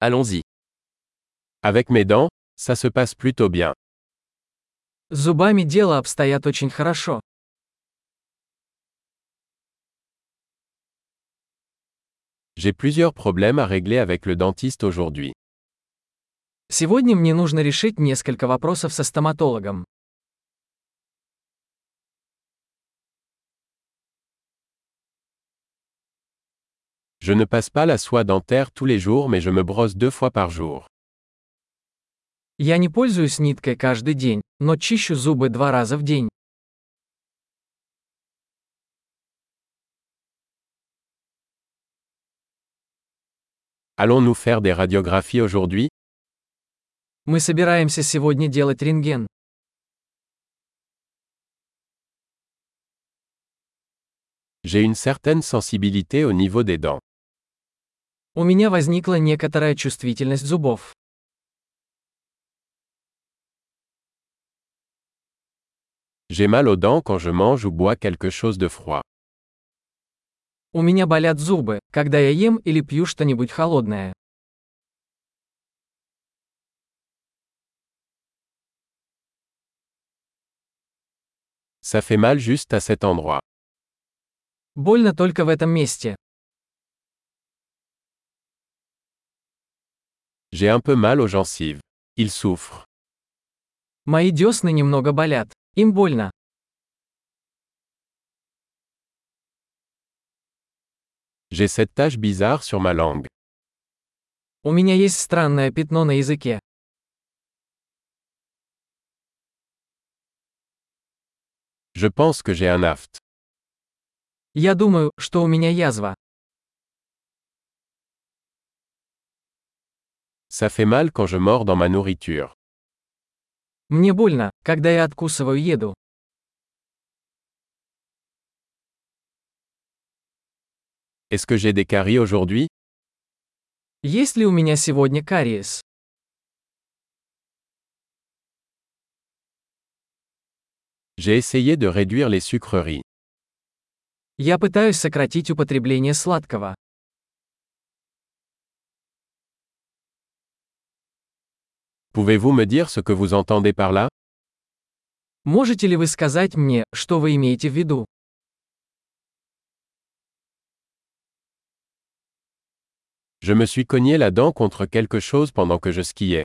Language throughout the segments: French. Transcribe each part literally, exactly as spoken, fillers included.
Allons-y. Avec mes dents, ça se passe plutôt bien. С зубами дело обстоят очень хорошо. J'ai plusieurs problèmes à régler avec le dentiste aujourd'hui. Сегодня мне нужно решить несколько вопросов со стоматологом. Je ne passe pas la soie dentaire tous les jours mais je me brosse deux fois par jour. Я не пользуюсь ниткой каждый день, но чищу зубы два раза в день. Allons-nous faire des radiographies aujourd'hui? Мы собираемся сегодня делать рентген. J'ai une certaine sensibilité au niveau des dents. У меня возникла некоторая чувствительность зубов. J'ai mal aux dents quand je mange ou bois quelque chose de froid. У меня болят зубы, когда я ем или пью что-нибудь холодное. Ça fait mal juste à cet endroit. Больно только в этом месте. J'ai un peu mal aux gencives. Ils souffrent. Мои десны немного болят. Им больно. J'ai cette tache bizarre sur ma langue. У меня есть странное пятно на языке. Je pense que j'ai un aft. Я думаю, что у меня язва. Ça fait mal quand je mords dans ma nourriture. Мне больно, когда я откусываю еду. Est-ce que j'ai des caries aujourd'hui? Есть ли у меня сегодня кариес? J'ai essayé de réduire les sucreries. Я пытаюсь сократить употребление сладкого. Pouvez-vous me dire ce que vous entendez par là? Можете ли вы сказать мне, что вы имеете в виду? Je me suis cogné la dent contre quelque chose pendant que je skiais.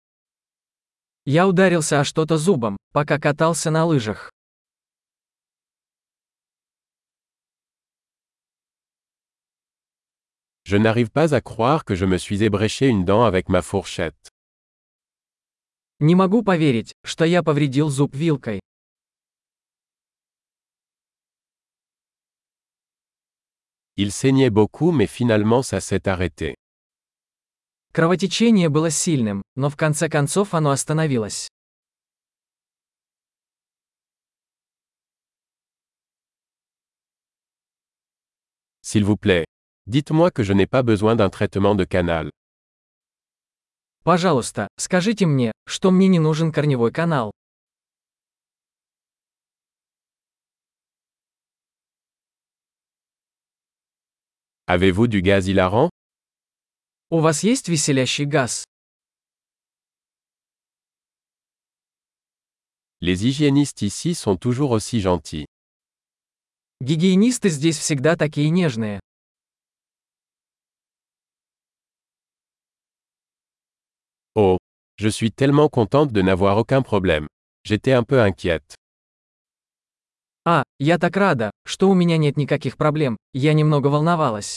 Я ударился о что-то зубом, пока катался на лыжах. Je n'arrive pas à croire que je me suis ébréché une dent avec ma fourchette. Не могу поверить, что я повредил зуб вилкой. Il saignait beaucoup mais finalement ça s'est arrêté. Кровотечение было сильным, но в конце концов оно остановилось. S'il vous plaît, dites-moi que je n'ai pas besoin d'un traitement de canal. Пожалуйста, скажите мне, что мне не нужен корневой канал. Avez-vous du gaz hilarant? У вас есть веселящий газ? Les hygiénistes ici sont toujours aussi gentils. Гигиенисты здесь всегда такие нежные. Oh, je suis tellement contente de n'avoir aucun problème. J'étais un peu inquiète. А, я так рада, что у меня нет никаких проблем, я немного волновалась.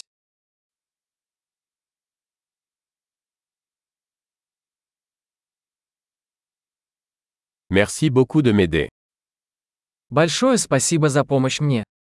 Merci beaucoup de m'aider. Большое спасибо за помощь мне.